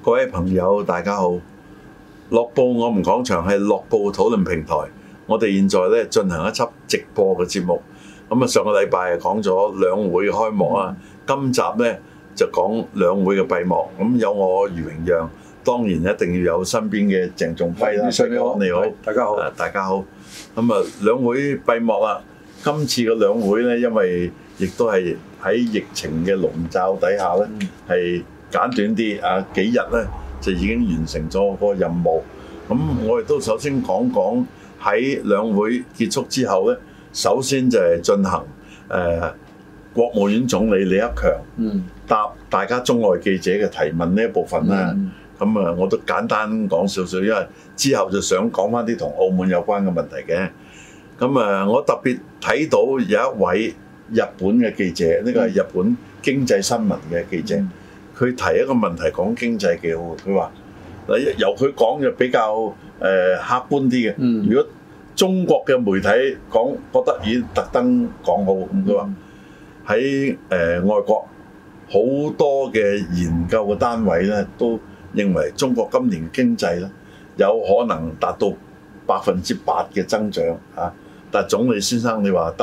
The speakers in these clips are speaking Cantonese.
各位朋友，大家好！樂報我們講場係樂報討論平台，我哋現在咧進行一輯直播嘅節目。咁啊，上個禮拜講咗兩會嘅開幕啊，今集咧就講兩會嘅閉幕。咁有我余榮讓，當然一定要有身邊嘅鄭仲輝啦。你好， 大家好， 大家好。咁啊，兩會閉幕啦。今次嘅兩會咧，因為亦都係喺疫情嘅籠罩底下咧，係簡短啲啊，幾日咧就已經完成咗個任務。咁我哋都首先講講喺兩會結束之後咧，首先就係進行國務院總理李克強答大家中外記者嘅提問呢一部分啦。咁啊，我都簡單講少少，因為之後就想講翻啲同澳門有關嘅問題嘅。咁啊，我特別睇到有一位日本嘅記者，呢個係日本經濟新聞嘅記者，佢提一個問題講經濟幾好。佢話嗱，由佢講就比較客觀啲嘅。如果中國嘅媒體講，覺得已經特登講好，咁佢話喺外國好多嘅研究嘅單位咧，都認為中國今年經濟咧有可能達到8%嘅增長嚇。但係總理先生你話得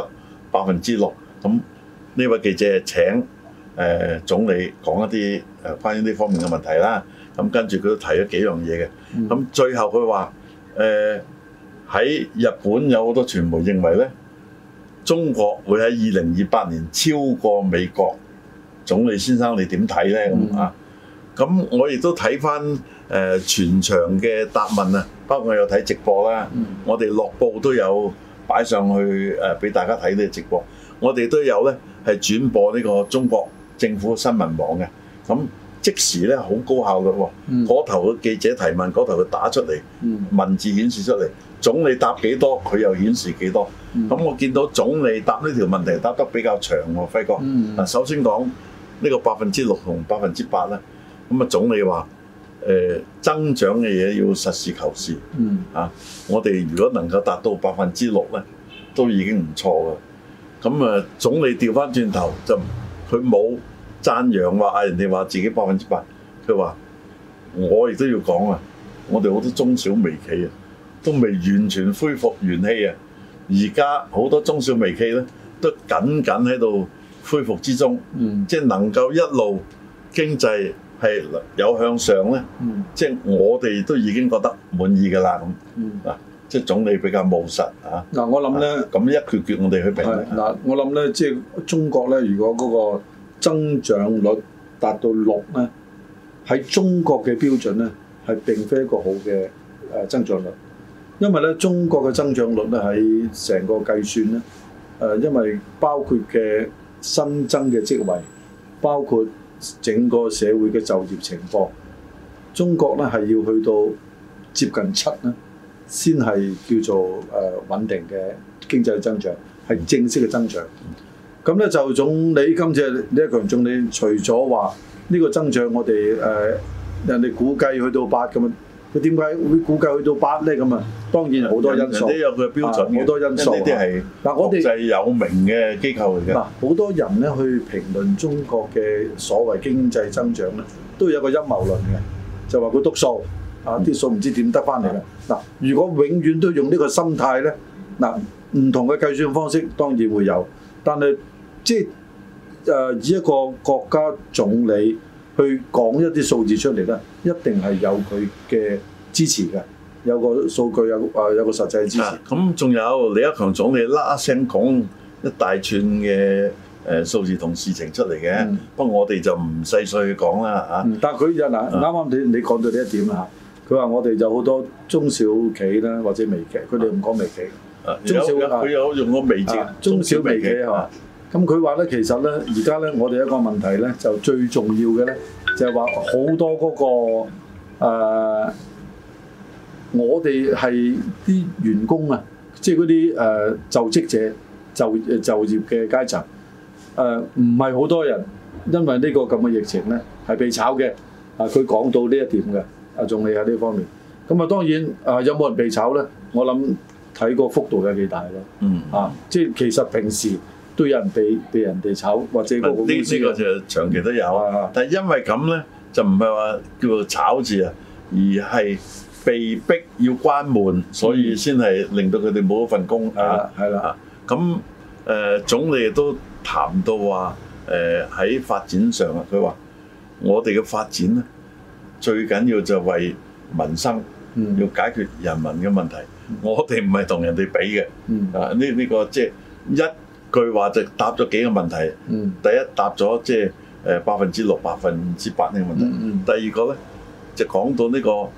6%，咁呢位記者請總理講一啲關於呢方面嘅問題啦。咁跟住佢都提咗幾樣嘢嘅。咁最後佢話喺日本有好多傳媒認為咧，中國會喺2028年超過美國。總理先生你點睇咧？咁啊，咁我亦都睇翻全場嘅答問啊，包括我有睇直播啦。我哋樂報都有擺上去俾大家睇呢個直播，我哋都有咧係轉播呢個中國政府新聞網嘅，咁即時咧好高效嘅喎。嗰頭嘅記者提問，嗰頭佢打出嚟，文字顯示出嚟，總理答幾多，佢又顯示幾多。咁我見到總理答呢條問題答得比較長喎，輝哥。嗱，首先講呢個6%同8%咧，咁啊總理話增長嘅嘢要實事求是。我哋如果能夠達到6%咧，都已經唔錯㗎。咁啊，總理調翻轉頭就佢冇讚揚話人哋話自己8%，佢話我亦都要講啊，我哋好多中小微企啊，都未完全恢復元氣啊。而家好多中小微企咧，都緊喺度恢復之中，即係能夠一路經濟係有向上咧，即係我哋都已經覺得滿意㗎啦咁。嗱，即係總理比較務實啊。嗱，我諗咧，咁一決決我哋去評。 嗱，我諗咧，即係中國咧，如果嗰個增長率達到6咧，喺中國嘅標準咧，係並非一個好嘅增長率，因為咧中國嘅增長率咧喺成個計算咧，因為包括嘅新增嘅職位，包括整個社會嘅就業情況，中國咧係要去到接近7咧，先係叫做穩定嘅經濟增長，係正式嘅增長。咁咧就總理今次李克強總理除咗話呢個增長我哋人哋估計去到8咁啊，佢點解會估計去到8咧？咁啊，當然好多因素， 人哋有佢嘅標準， 好多因素。呢啲係國際有名嘅機構嚟嘅。 好多人咧去評論中國嘅所謂經濟增長咧，都有個陰謀論嘅，就話佢篤數啲數唔知點得翻嚟嘅。嗱，如果永遠都用呢個心態咧，嗱，唔同嘅計算方式當然會有，但係即係以一個國家總理去講一啲數字出嚟咧，一定係有佢嘅支持嘅，有個數據有個實際支持。 咁仲有李克強總理啦聲講一大串嘅數字同事情出嚟嘅，不過我哋就唔細碎去講啦嚇。 但係佢就嗱啱啱你講到呢一點啦嚇，佢話我哋有好多中小企啦或者微企，佢哋唔講微企，中小佢有用個微字， 中小微企係嘛？咁佢話咧，其實咧，而家咧，我哋一個問題咧，就最重要嘅咧，就係話好多嗰個我哋係啲員工啊，即係嗰啲就職者就業嘅階層，唔係好多人因為呢個咁嘅疫情咧係被炒嘅。佢講到呢一點嘅，總理喺呢方面。咁啊，當然有冇人被炒咧？我諗睇個幅度有幾大咯。即係其實平時都有人被人哋炒，或者嗰個公司呢個就長期都有。但係因為咁咧， 就唔係話叫做炒字啊，而係被逼要關門，所以先係令到佢哋冇咗份工啊。 係啦。 咁總理亦都談到話喺發展上啊，佢話我哋嘅發展咧最緊要就為民生，要解決人民嘅問題。我哋唔係同人哋比嘅。呢個即係一句話就答咗幾個問題。第一答咗即係6%、8%呢個問題。第二個咧就講到呢個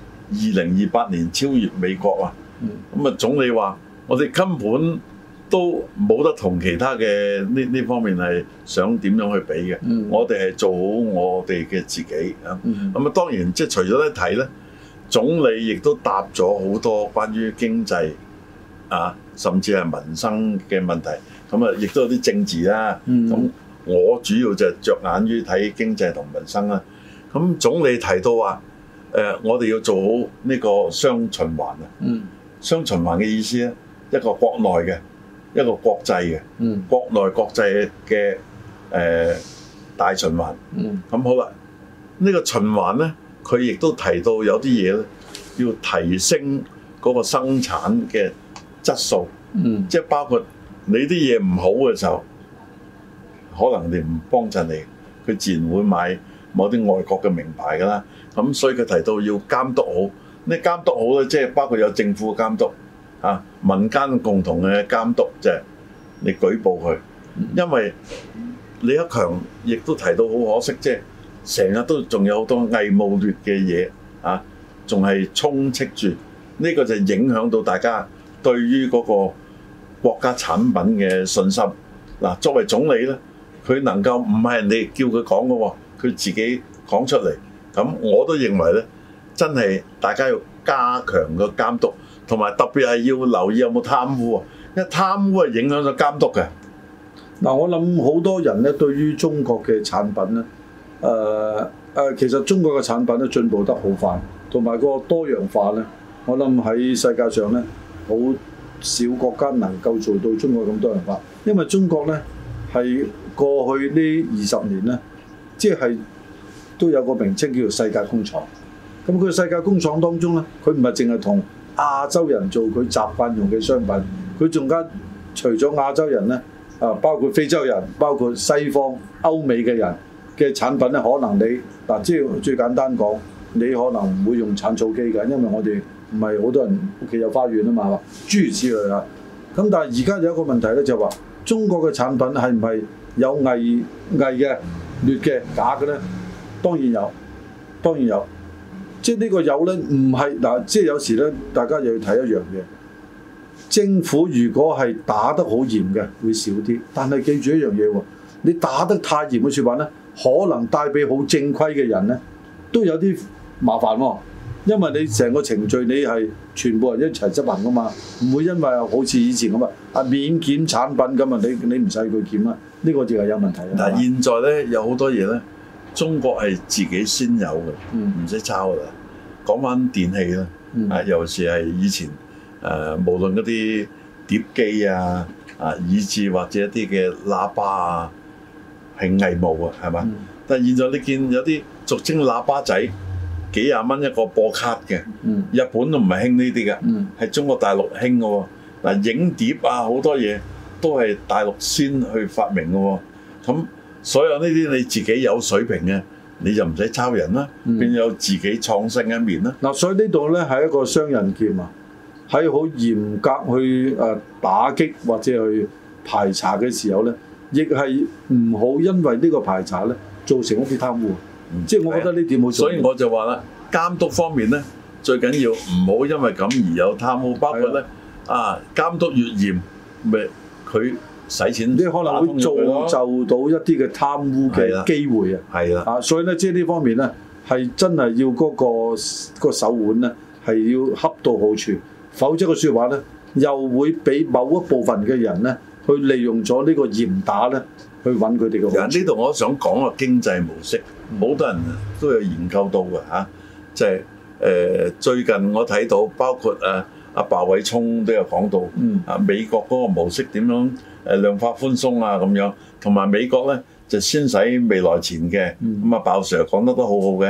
2028年超越美國啊。咁啊總理話我哋根本都冇得同其他嘅呢方面係想點樣去比嘅。我哋係做好我哋嘅自己啊。咁啊當然即係除咗一睇咧，總理亦都答咗好多關於經濟啊，甚至係民生嘅問題。咁啊亦都有啲政治啦。咁我主要就係着眼於睇經濟同民生啦。咁總理提到話我哋要做好呢個雙循環啊。雙循環嘅意思咧，一個國內嘅，一個國際嘅。國內國際嘅大循環。咁好啦，呢個循環咧，佢亦都提到有啲嘢咧，要提升嗰個生產嘅質素。即係包括你啲嘢唔好嘅時候，可能你唔幫襯你，佢自然會買某啲外國嘅名牌㗎啦。咁所以佢提到要監督好。呢監督好咧，即係包括有政府嘅監督，民間共同嘅監督，就係你舉報佢。因為李克強亦都提到好可惜，即係成日都仲有好多偽冒劣嘅嘢仲係充斥住。呢個就影響到大家對於嗰個國家產品嘅信心。嗱，作為總理咧，佢能夠唔係人哋叫佢講嘅喎，佢自己講出嚟。咁我都認為咧，真係大家要加強個監督，同埋特別係要留意有冇貪污啊！因為貪污係影響咗監督嘅。 嗱，我諗好多人咧對於中國嘅產品咧，其實中國嘅產品咧進步得好快，同埋個多樣化咧，我諗喺世界上咧好少國家能夠做到中國咁多樣化，因為中國咧係過去呢20年咧，即係都有個名稱叫做世界工廠。咁佢世界工廠當中咧，佢唔係淨係同亞洲人做佢習慣用嘅商品，佢仲加除咗亞洲人咧，包括非洲人、包括西方歐美嘅人嘅產品咧，可能你即係最簡單講，你可能唔會用產草機嘅，因為我哋唔係好多人屋企有花園啊嘛，諸如此類啊。咁但係而家有一個問題咧，就係話中國嘅產品係唔係有偽嘅、劣嘅、假嘅咧？當然有，當然有。即係呢個有咧，唔係嗱，即係有時咧，大家又要睇一樣嘢。政府如果係打得好嚴嘅，會少啲。但係記住一樣嘢喎，你打得太嚴嘅説話咧，可能帶俾好正規嘅人咧，都有啲麻煩喎。因為你成個程序你係全部人一齊執行噶嘛，唔會因為好似以前咁免檢產品咁啊，你唔使佢檢啦。呢個就係有問題啦。 但係現在咧有好多嘢咧。中國係自己先有嘅，唔使抄㗎啦。講翻電器啦，尤其是係以前無論嗰啲碟機以至或者一啲嘅喇叭啊，係偽冒啊，係嘛？但係現在你見有啲俗稱喇叭仔，幾廿蚊一個播卡嘅，日本都唔係興呢啲嘅，係中國大陸興嘅喎。嗱，影碟好多嘢都係大陸先去發明嘅喎，咁。所有呢啲你自己有水平嘅，你就唔使抄人啦，變有自己創新一面啦。 嗱，所以呢度咧係一個雙刃劍啊，喺好嚴格去打擊或者去排查嘅時候咧，亦係唔好因為呢個排查咧造成一啲貪污。即係我覺得呢點好重要。 所以我就話啦，監督方面咧最緊要唔好因為咁而有貪污，包括咧監督越嚴，咪佢。使錢， 你可能會造就到一啲嘅貪污嘅機會啊！ 係啦， 所以咧，即係呢方面咧，係真係要嗰個手腕咧，係要恰到好處，否則嘅説話咧，又會俾某一部分嘅人咧，去利用咗呢個嚴打咧，去揾佢哋嘅好處。 呢度我想講個經濟模式，好多人都有研究到嘅就係最近我睇到，包括阿鮑偉聰都有講到，美國嗰個模式點樣量化寬鬆咁樣，同埋美國咧就先使未來錢嘅，鮑 Sir 講得都好好嘅，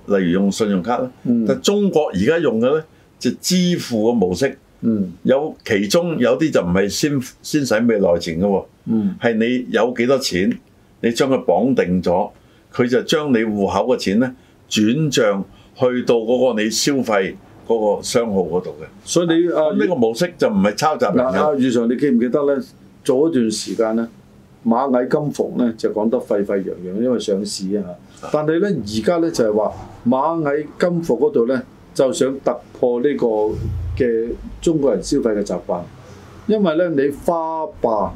例如用信用卡啦。但中國而家用嘅咧就支付嘅模式，有其中有啲就唔係先使未來錢嘅喎，係你有幾多錢，你將佢綁定咗，佢就將你戶口嘅錢咧轉帳去到嗰個你消費嗰個商號嗰度嘅。所以你呢個模式就唔係抄襲人嘅。 宇常，你記唔記得咧？做一段時間咧，螞蟻金服咧就講得沸沸揚揚，因為上市啊。但係咧而家咧就係話螞蟻金服嗰度咧就想突破呢個嘅中國人消費嘅習慣，因為咧你花唄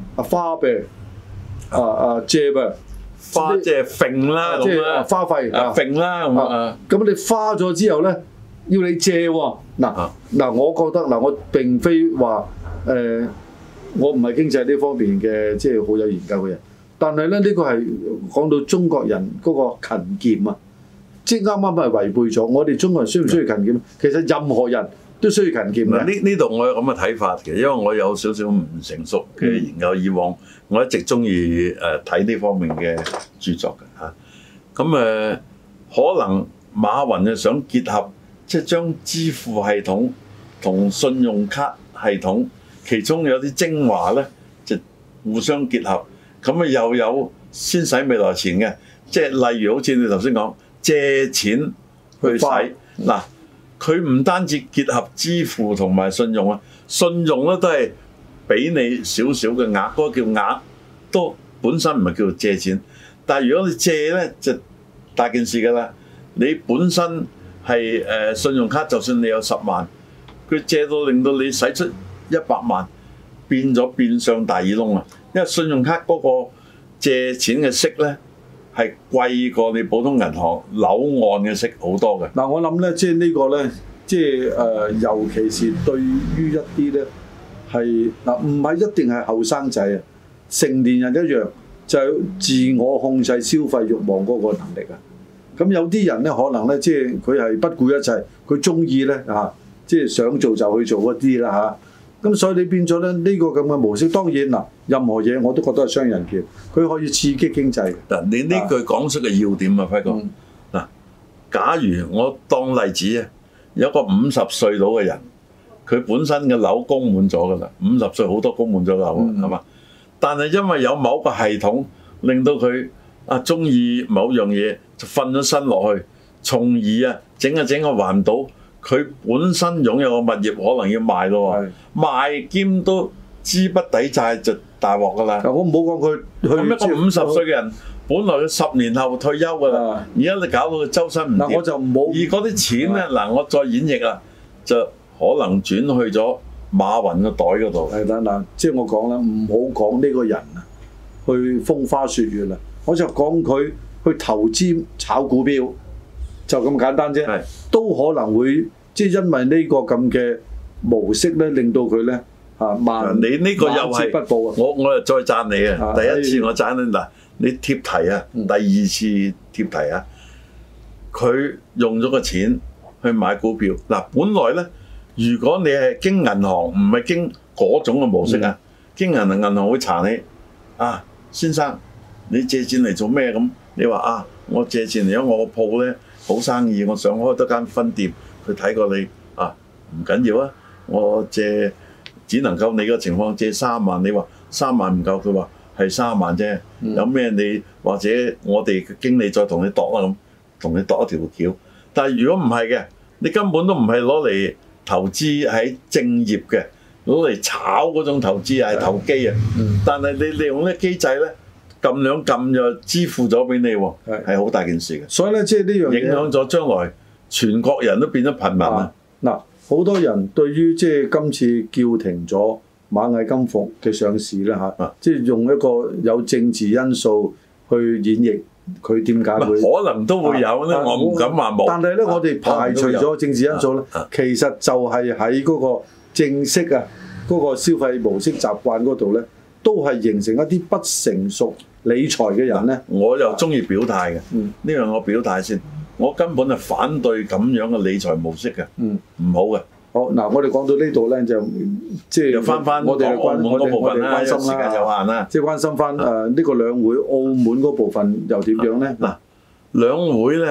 借呗， 花即係揈啦， 即係花費揈啦咁你花咗之後咧要你借喎。嗱，我覺得我並非話我唔係經濟呢方面嘅即係好有研究嘅人，但係咧呢個係講到中國人嗰個勤儉啊，即係啱啱係違背咗。我哋中國人需唔需要勤儉？其實任何人都需要勤儉嘅。 呢度我有咁嘅睇法嘅，因為我有少少唔成熟嘅研究。以往我一直中意睇呢方面嘅著作嘅嚇。咁可能馬雲就想結合，即係將支付系統同信用卡系統。其中有啲精華咧，就互相結合，咁又有先使未來錢嘅，即係例如好似你頭先講借錢去使，嗱，佢唔單止結合支付同埋信用啊，信用咧都係俾你少少嘅額，嗰個叫額，都本身唔係叫做借錢，但係如果你借咧就大件事㗎啦，你本身係信用卡，就算你有10萬，佢借到令到你使出100萬，變咗變相大耳窿啊！因為信用卡嗰個借錢嘅息咧係貴過你普通銀行樓按嘅息好多嘅。 我諗咧，即係呢個咧，即係尤其是對於一啲咧係唔係一定係後生仔啊，成年人一樣就係自我控制消費慾望嗰個能力啊。咁有啲人咧可能咧，即係佢係不顧一切，佢中意咧即係想做就去做嗰啲啦咁所以你變咗咧呢個咁嘅模式，當然任何嘢我都覺得係雙刃劍，佢可以刺激經濟。 嗱，你呢句講出嘅要點啊，輝哥。假如我當例子啊，有個50歲到嘅人，佢本身嘅樓供滿咗㗎啦，50歲好多供滿咗樓係嘛？但係因為有某個系統令到佢中意某樣嘢，就瞓咗身落去，從而整個還唔到。佢本身擁有個物業可能要賣咯喎，賣兼都資不抵債就大鑊㗎啦。 我唔好講佢咁一個50歲嘅人，本來佢10年後退休㗎啦，而家你搞到佢周身唔掂。 我就唔好。 而嗰啲錢咧，我再演繹啦，就可能轉去咗馬雲個袋嗰度。 即係我講啦，唔好講呢個人去風花雪月啦，我就講佢去投資炒股票，就咁簡單啫。都可能會即係因為呢個咁嘅模式咧，令到佢咧你呢個又係不保啊！ 我又再讚你啊！第一次我讚你你貼題啊，第二次貼題啊，佢用咗個錢去買股票本來咧，如果你係經銀行，唔係經嗰種嘅模式經銀行會查你先生，你借錢嚟做咩咁？你話我借錢嚟，因為我個鋪咧好生意，我想開多間分店。佢睇過你唔緊要啊，我借只能夠你個情況借3萬，你話3萬唔夠，佢話係3萬啫。有咩你或者我哋嘅經理再同你度啦咁，同你度一條橋。但係如果唔係嘅，你根本都唔係攞嚟投資喺正業嘅，攞嚟炒嗰種投資係投機啊。但係你利用呢個機制咧，撳兩撳就支付咗俾你喎，係好大件事嘅。 所以咧，即係呢樣嘢影響咗將來全國人都變咗貧民啊！ 好多人對於即係今次叫停咗螞蟻金服嘅上市咧即係用一個有政治因素去演繹佢點解會可能都會有咧，我唔敢話冇。 但係咧，我哋排除咗政治因素咧，其實就係喺嗰個正式嗰個消費模式習慣嗰度咧，都係形成一啲不成熟理財嘅人咧。 我又中意表態嘅，呢樣我表態先。我根本係反對咁樣嘅理財模式嘅，唔好嘅。 好我哋講到呢度咧，就即係翻我哋澳門嗰部分啦， 關心時間有限啦， 即係關心翻呢個兩會澳門嗰部分又點樣咧？ 兩會咧，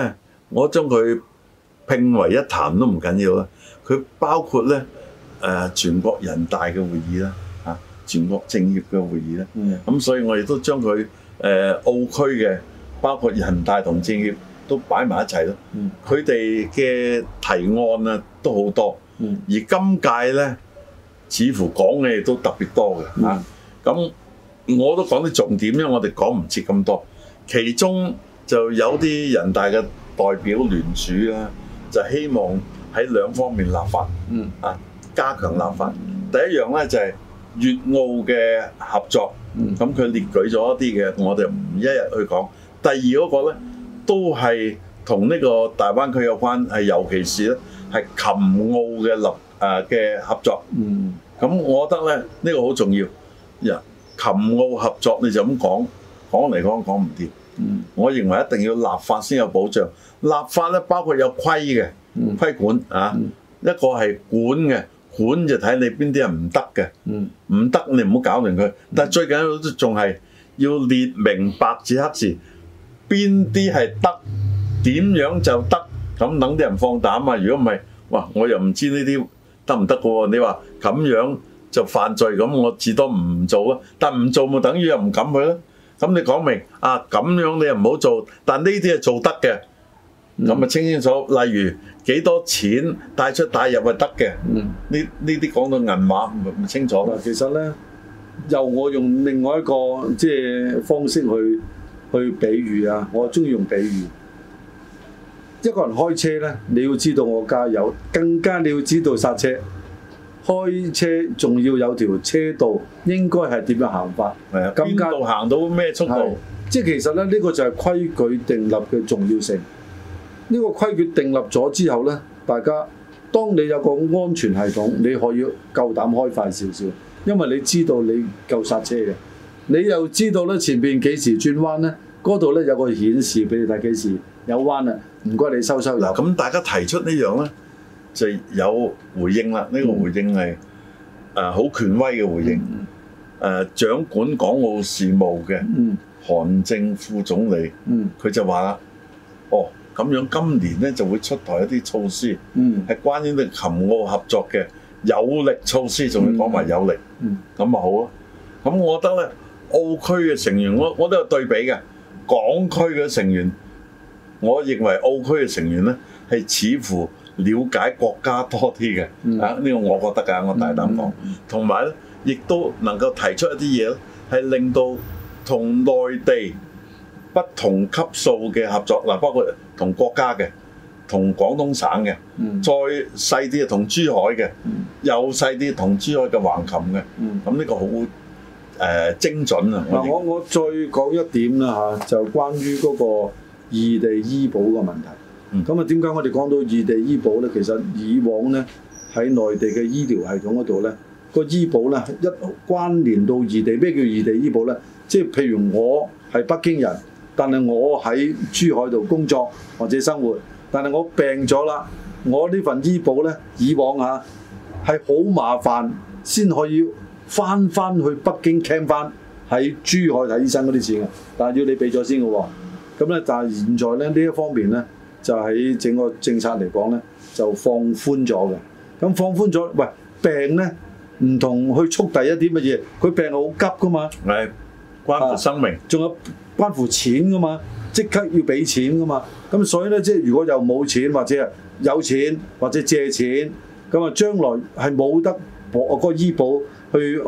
我將佢拼為一談都唔緊要啦。佢包括咧全國人大嘅會議啦，全國政協嘅會議啦。咁所以我亦都將佢澳區嘅包括人大同政協都擺埋一齊咯。佢哋嘅提案啊都好多，而今屆咧似乎講嘅亦都特別多嘅嚇。咁我都講啲重點，因為我哋講唔切咁多。其中就有啲人大嘅代表聯署啦，就希望喺兩方面立法，加強立法。第一樣咧就係粵澳嘅合作，咁佢列舉咗一啲嘅，我哋唔一一去講。第二嗰個咧都係同呢個大灣區有關，係尤其是咧係琴澳嘅合作。咁我覺得咧呢個好重要。琴澳合作你就咁講嚟講唔掂。我認為一定要立法先有保障。立法咧包括有規管一個係管嘅，管就睇你邊啲人唔得嘅，唔得你唔好搞亂佢。但係最緊要都仲係要列明白紙黑字，邊啲係得，點樣就得，咁等啲人放膽啊！如果唔係，哇，我又唔知呢啲得唔得嘅喎。你話咁樣就犯罪，咁我至多唔做啊。但唔做咪等於又唔敢去咯。咁你講明咁樣你又唔好做，但呢啲係做得嘅，咁咪清楚。例如幾多錢帶出帶入係得嘅，呢啲講到銀碼咪清楚啦。 其實咧，由我用另外一個方式去比喻啊，我中意用比喻。一個人開車咧，你要知道我加油，更加你要知道剎車。開車仲要有條車道，應該係點樣行法？ 邊度行到咩速度？ 即係其實咧，呢個就係規矩定立嘅重要性。呢個規矩定立咗之後咧，大家當你有個安全系統，你可以夠膽開快少少，因為你知道你夠剎車嘅，你又知道咧前邊幾時轉彎咧，嗰度咧有個顯示俾你睇幾時有彎啊，唔該你收油。 嗱，咁大家提出呢樣咧，就有回應啦。呢個回應係好權威嘅回應。掌管港澳事務嘅韓正副總理，佢就話啦：咁樣今年咧就會出台一啲措施，係關於呢琴澳合作嘅有力措施，仲要講埋有力，咁咪好咯。咁我覺得咧，澳區嘅成員，我都有對比嘅。港區嘅成員，我認為澳區嘅成員咧係似乎了解國家多啲嘅，呢個我覺得㗎，我大膽講。同埋咧，亦都能夠提出一啲嘢咧，係令到同內地不同級數嘅合作，包括同國家嘅、同廣東省嘅，再細啲同珠海嘅，又細啲同珠海嘅橫琴嘅，咁呢個好精準啊！ 我再講一點啦嚇，就關於嗰個異地醫保嘅問題。咁點解我哋講到異地醫保咧？其實以往咧喺內地嘅醫療系統嗰度咧，個醫保咧一關聯到異地。咩叫異地醫保咧？即係譬如我係北京人，但係我喺珠海度工作或者生活，但係我病咗啦，我呢份醫保咧，以往係好麻煩先可以翻去北京 claim 翻喺珠海睇醫生嗰啲錢嘅，但係要你俾咗先嘅喎。咁咧，但係現在咧呢一方面咧，就喺整個政策嚟講咧，就放寬咗嘅。咁放寬咗，喂，病咧唔同去速遞一啲乜嘢，佢病好急噶嘛， 係關乎生命， 仲有關乎錢噶嘛，即刻要俾錢噶嘛。咁所以咧，即係如果又冇錢或者有錢或者借錢，咁啊將來係冇得個醫保去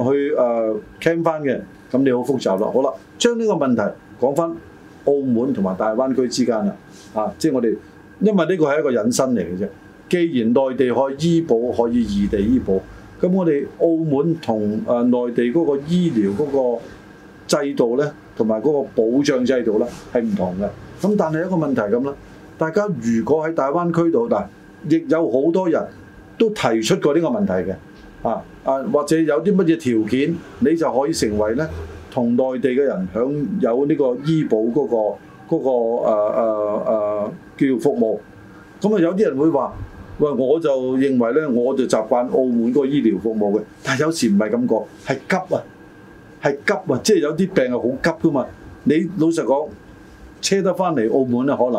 claim 翻嘅，咁你好複雜啦。好啦，將呢個問題講翻澳門同埋大灣區之間啦，即係我哋因為呢個係一個引申嚟嘅啫。既然內地可以醫保，可以異地醫保，咁我哋澳門同內地嗰個醫療嗰個制度咧，同埋嗰個保障制度咧係唔同嘅。咁但係一個問題咁啦，大家如果喺大灣區度，亦有好多人都提出過呢個問題嘅。或者有啲乜嘢條件，你就可以成為咧同內地嘅人享有呢個醫保嗰個叫服務。咁啊有啲人會話：喂，我就認為咧，我就習慣澳門嗰個醫療服務嘅。但係有時唔係咁講，係急啊，即係有啲病係好急噶嘛。你老實講，車得翻嚟澳門咧，可能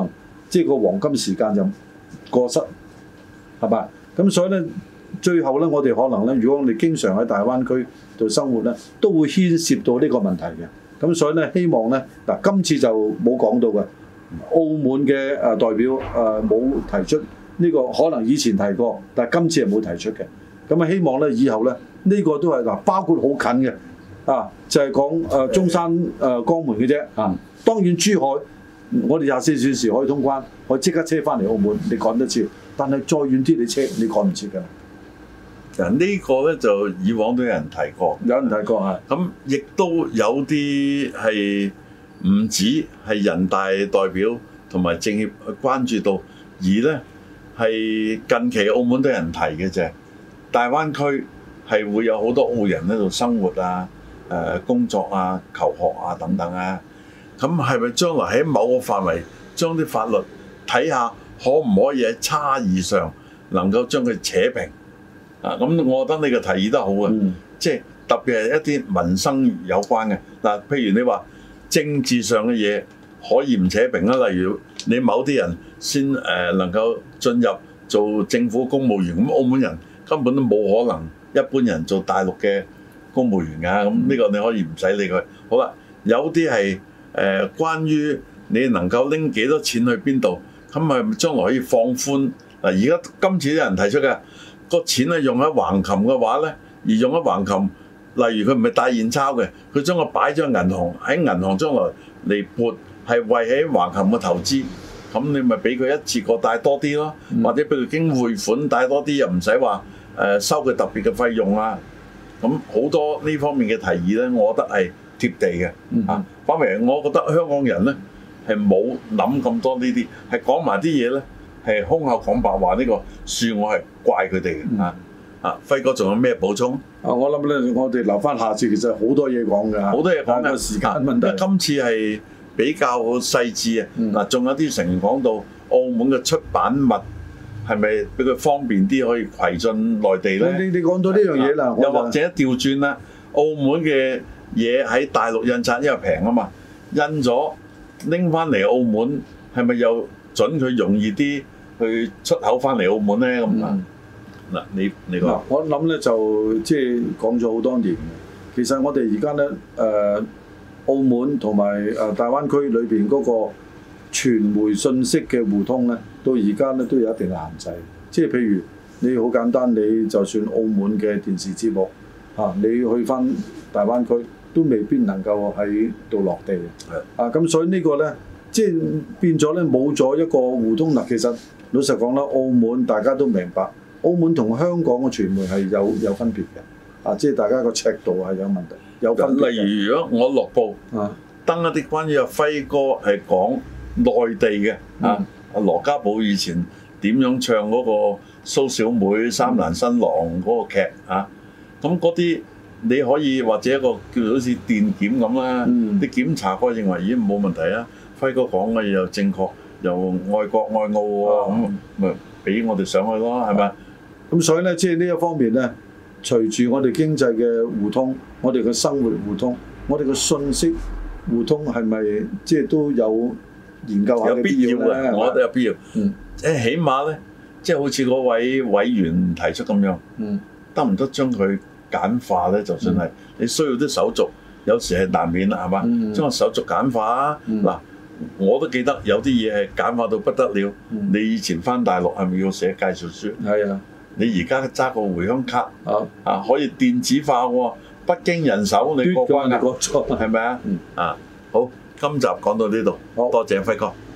即係個黃金時間就過失，係嘛？咁所以咧，最後咧，我哋可能咧，如果我哋經常喺大灣區度生活咧，都會牽涉到呢個問題嘅。咁所以咧，希望咧嗱，今次就冇講到嘅，澳門嘅代表冇提出呢個，可能以前提過，但係今次係冇提出嘅。咁啊，希望咧以後咧，呢個都係嗱，包括好近嘅就係講中山江門嘅啫啊。當然珠海，我哋24小時可以通關，可以即刻車翻嚟澳門，你趕得切。但係再遠啲，你趕唔切㗎。 嗱，呢個咧就以往都有人提過，咁亦都有啲係唔止係人大代表同埋政協去關注到，而咧係近期澳門都有人提嘅啫。大灣區係會有好多澳人喺度生活啊、工作啊、求學啊等等啊。咁係咪將來喺某個範圍將啲法律睇下，可唔可以喺差異上能夠將佢扯平？咁我覺得你個提議得好啊，即係特別係一啲民生有關嘅嗱，譬如你話政治上嘅嘢可以唔扯平啊，例如你某啲人先能夠進入做政府公務員，咁澳門人根本都冇可能一般人做大陸嘅公務員㗎，咁呢個你可以唔使理佢。好啦，有啲係關於你能夠拎幾多錢去邊度，咁係將來可以放寬嗱？而家今次啲人提出嘅個錢咧用喺橫琴嘅話咧，而用喺橫琴，例如佢唔係帶現鈔嘅，佢將個擺咗喺銀行，喺銀行將來嚟撥係為喺橫琴嘅投資，咁你咪俾佢一次過帶多啲咯，或者俾佢經匯款帶多啲，又唔使話收佢特別嘅費用啊。咁好多呢方面嘅提議咧，我覺得係貼地嘅啊。反為我覺得香港人咧係冇諗咁多呢啲，係講埋啲嘢咧。係空口講白話，呢個恕我係怪佢哋嘅輝哥仲有咩補充？ 我諗咧，我哋留翻下次，其實好多嘢講㗎， 好多嘢講嘅時間問題。 因為今次係比較細緻啊，仲有啲成員講到澳門嘅出版物係咪俾佢方便啲可以攜進內地咧？ 你講到呢樣嘢啦， 又或者調轉啦，澳門嘅嘢喺大陸印刷因為平啊嘛，印咗拎翻嚟澳門係咪又準佢容易啲去出口翻嚟澳門咧？咁嗱，你講。 我諗咧就即係講咗好多年。其實我哋而家咧澳門同埋大灣區裏邊嗰個傳媒信息嘅互通咧，到而家咧都有一定嘅限制。即係譬如你好簡單，你就算澳門嘅電視節目你去翻大灣區都未必能夠喺度落地嘅。咁所以呢個咧。即係變咗咧，冇咗一個互通嗱。其實老實講啦，澳門大家都明白，澳門同香港嘅傳媒係有分別嘅。即係大家個尺度係有問題，有分別。例如如果我落報登一啲關於阿輝哥係講內地嘅阿羅家寶以前點樣唱嗰個蘇小妹三蘭新郎嗰個劇咁嗰啲你可以或者一個叫做好似電檢咁啦，啲檢查過認為已經冇問題啊。輝哥講嘅嘢又正確，又愛國愛澳喎，咁咪俾我哋上去咯，係咪？ 咁所以咧，即係呢一方面咧，隨住我哋經濟嘅互通，我哋嘅生活互通，我哋嘅信息互通係咪即係都有研究下嘅必要咧？ 我覺得有必要。起碼咧，即係好似嗰位委員提出咁樣，得唔得將佢簡化咧？就算係你需要啲手續，有時係難免啦，係嘛？將個手續簡化啊！嗱。我都記得有啲嘢係簡化到不得了。你以前翻大陸係咪要寫介紹書？ 係啊。 你而家揸個回鄉卡可以電子化喎，不經人手你過關㗎，係咪啊？好，今集講到呢度，多謝輝哥。